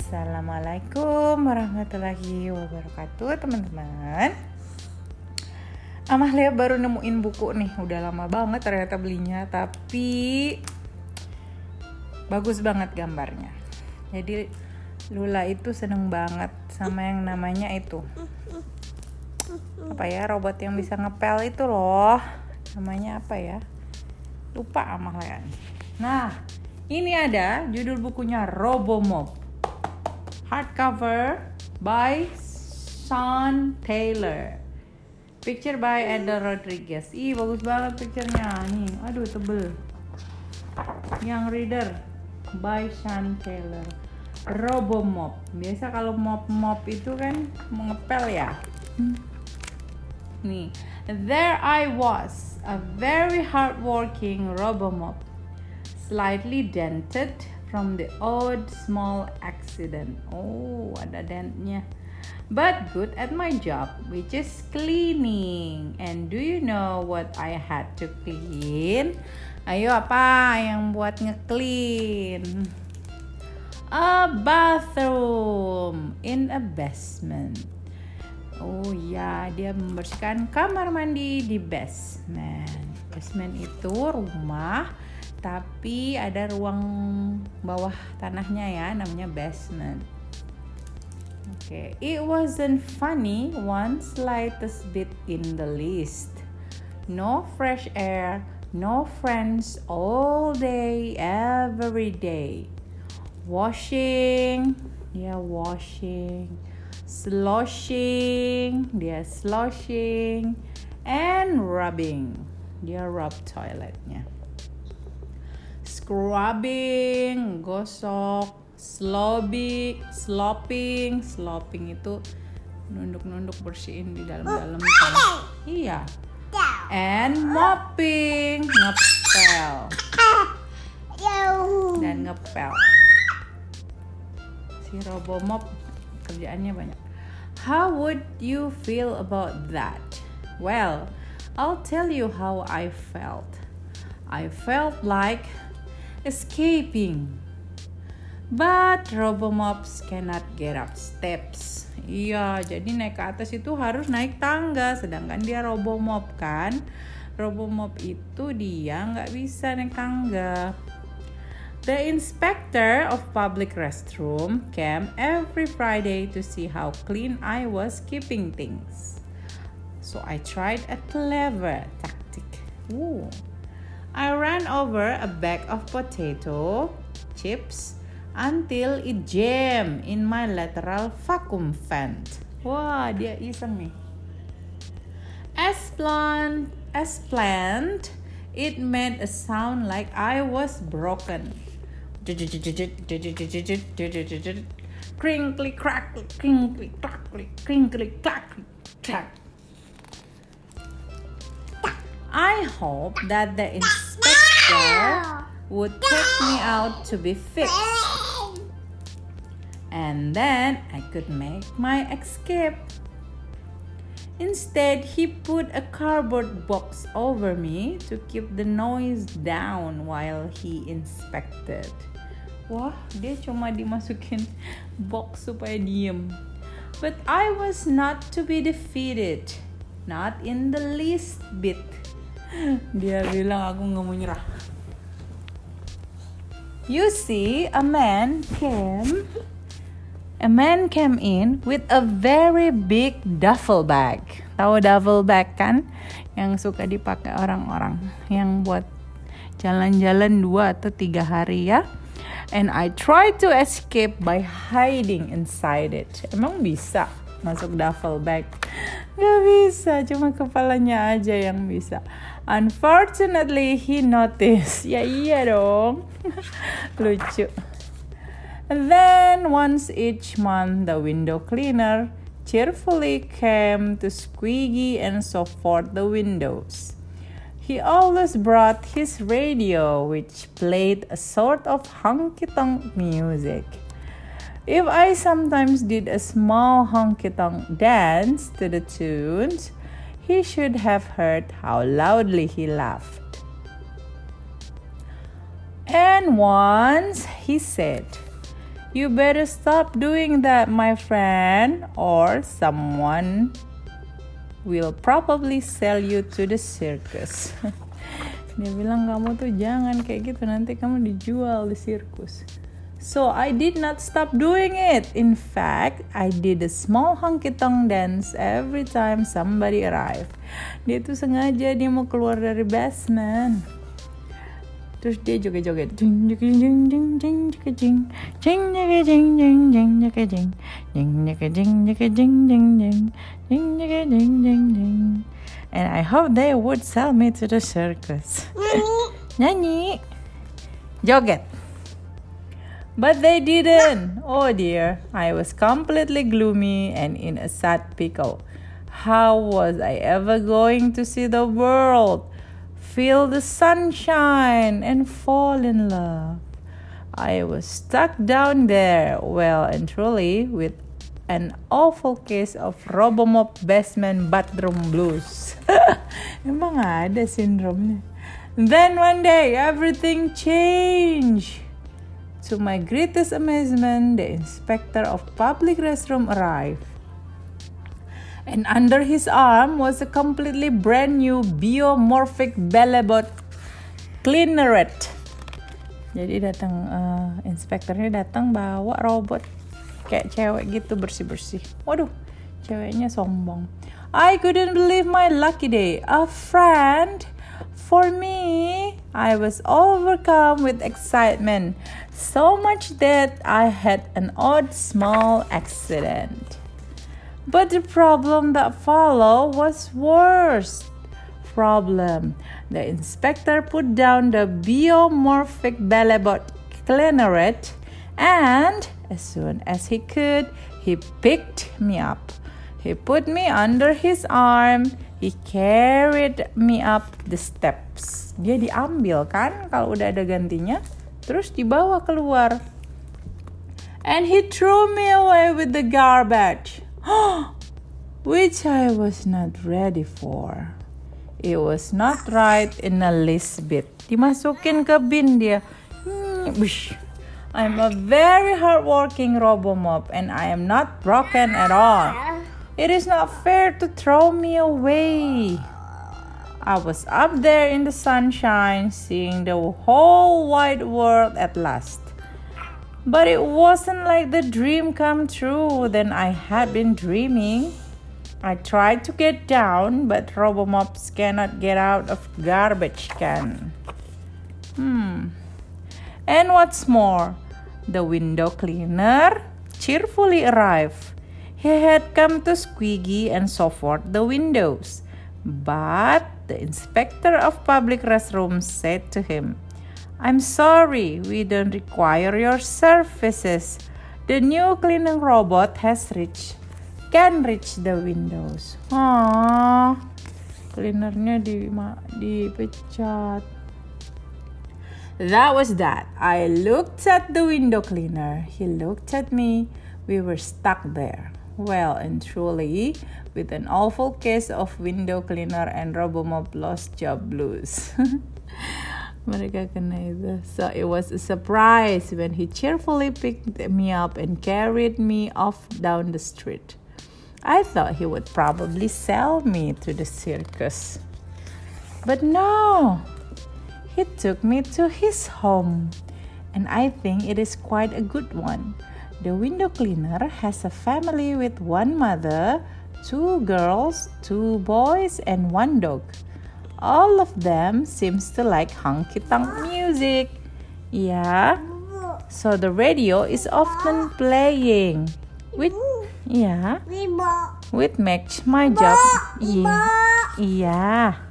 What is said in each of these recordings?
Assalamualaikum warahmatullahi wabarakatuh, teman-teman. Amalia baru nemuin buku nih, udah lama banget ternyata belinya, tapi bagus banget gambarnya. Jadi Lula itu seneng banget sama yang namanya itu robot yang bisa ngepel itu loh, namanya apa ya, lupa Amalia. Nah, ini ada judul bukunya Robomop, hardcover by Sean Taylor, picture by Eda Rodriguez. Ih, bagus banget picturenya nih. Aduh, tebel. Yang reader by Sean Taylor. Robomop. Biasa kalau mop itu kan mengepel ya. Nih, there I was, a very hardworking Robomop, slightly dented from the odd small accident. Oh, ada dentnya. But good at my job, which is cleaning. And do you know what I had to clean? Ayo, apa yang buat nge-clean? A bathroom in a basement. Oh ya, dia membersihkan kamar mandi di basement. Basement itu rumah, tapi ada ruang bawah tanahnya ya, namanya basement. Okay, it wasn't funny one slightest bit in the least. No fresh air, no friends all day, every day. Washing, sloshing, and rubbing, dia rub toiletnya. Scrubbing, gosok, slopping itu nunduk bersihin di dalam kan. Iya. And mopping, ngepel. Dan ngepel. Si Robomop kerjaannya banyak. How would you feel about that? Well, I'll tell you how I felt. I felt like escaping. But Robomops cannot get up steps. Iya, jadi naik ke atas itu harus naik tangga. Sedangkan dia Robomop kan. Robomop itu dia nggak bisa naik tangga. The inspector of public restroom came every Friday to see how clean I was keeping things. So I tried a clever tactic. I ran over a bag of potato chips until it jammed in my lateral vacuum vent. Wah, dia iseng nih. As planned, it made a sound like I was broken. Crinkly crackly, crinkly crackly, crinkly crackly, crack. I hope that the inspector would take me out to be fixed, and then I could make my escape. Instead, he put a cardboard box over me to keep the noise down while he inspected. Wah, dia cuma dimasukin box supaya diem. But I was not to be defeated. Not in the least bit. Dia bilang aku gak mau nyerah. You see, a man came in with a very big duffel bag. Tahu duffel bag kan? Yang suka dipakai orang-orang yang buat jalan-jalan 2 atau 3 hari ya. And I tried to escape by hiding inside it. Emang bisa masuk duffel bag? Gak bisa, cuma kepalanya aja yang bisa. Unfortunately, he noticed. Ya iya dong. Lucu. Then once each month, the window cleaner cheerfully came to squeegee and so forth the windows. He always brought his radio, which played a sort of honky-tonk music. If I sometimes did a small honky-tonk dance to the tunes, he should have heard how loudly he laughed. And once he said, You better stop doing that, my friend, or someone will probably sell you to the circus. Dia bilang kamu tuh jangan kayak gitu, nanti kamu dijual di sirkus. So I did not stop doing it. In fact, I did a small honky-tonk dance every time somebody arrived. Dia tuh sengaja dia mau keluar dari basement. Terus dia joget-joget. Jing jing jing jing jing jing jing jing jing jing jing jing jing jing jing jing jing. And I hope they would sell me to the circus. Nyanyi. Joget. But they didn't. Oh dear. I was completely gloomy and in a sad pickle. How was I ever going to see the world, feel the sunshine, and fall in love? I was stuck down there, well and truly, with an awful case of Robomop basement bathroom blues. Emang ada sindromnya. Then one day, everything changed. To my greatest amazement, the inspector of public restroom arrived. And under his arm was a completely brand new biomorphic Bellabot cleaneret. Jadi datang inspektornya datang bawa robot kayak cewek gitu bersih-bersih. Waduh, ceweknya sombong. I couldn't believe my lucky day. A friend for me. I was overcome with excitement, so much that I had an odd small accident. But the problem that followed was worse. Problem. The inspector put down the biomorphic Bellabot cleaneret, and as soon as he could, he picked me up. He put me under his arm. He carried me up the steps. Dia diambil kan kalau udah ada gantinya, terus dibawa keluar. And he threw me away with the garbage. Which I was not ready for. It was not right in the least bit. Dimasukin ke bin dia. I'm a very hardworking Robomop and I am not broken at all. It is not fair to throw me away. I was up there in the sunshine, seeing the whole wide world at last. But it wasn't like the dream come true that I had been dreaming. I tried to get down, but Robomops cannot get out of garbage can. And what's more, the window cleaner cheerfully arrived. He had come to squeegee and so forth the windows. But the inspector of public restrooms said to him, I'm sorry, we don't require your services. The new cleaning robot can reach the windows. Cleanernya dipecat. That was that. I looked at the window cleaner. He looked at me. We were stuck there. Well and truly, with an awful case of window cleaner and Robomop lost job blues. Mereka kena itu. So it was a surprise when he cheerfully picked me up and carried me off down the street. I thought he would probably sell me to the circus. But no, he took me to his home. And I think it is quite a good one. The window cleaner has a family with one mother, 2 girls, 2 boys, and 1 dog. All of them seems to like honky-tonk music. Yeah. So the radio is often playing. Which makes my job. Yeah.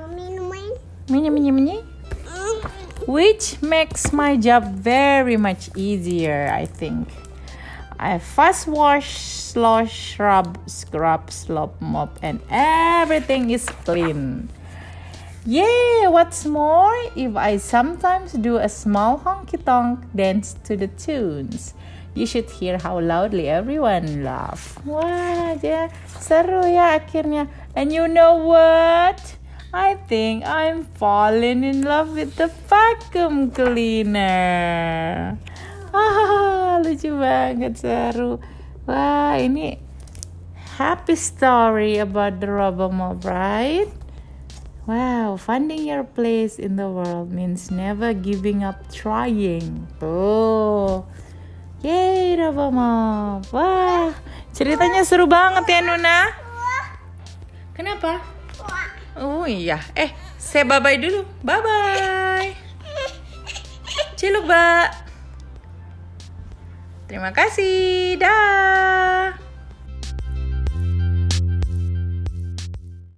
Which makes my job very much easier, I think. I fast wash, slosh, scrub, slop, mop, and everything is clean. Yeah, what's more, if I sometimes do a small honky-tonk dance to the tunes, you should hear how loudly everyone laugh. Wah, ya, seru ya akhirnya. And you know what? I think I'm falling in love with the vacuum cleaner. lucu banget, seru. Wah, ini happy story about the RoboMob, right? Wow, finding your place in the world means never giving up trying. Tuh. Yeay, RoboMob. Wah, ceritanya seru banget ya, Nuna. Kenapa? Oh iya. Saya bye-bye dulu. Bye-bye. Ciluk, Mbak. Terima kasih. Dah.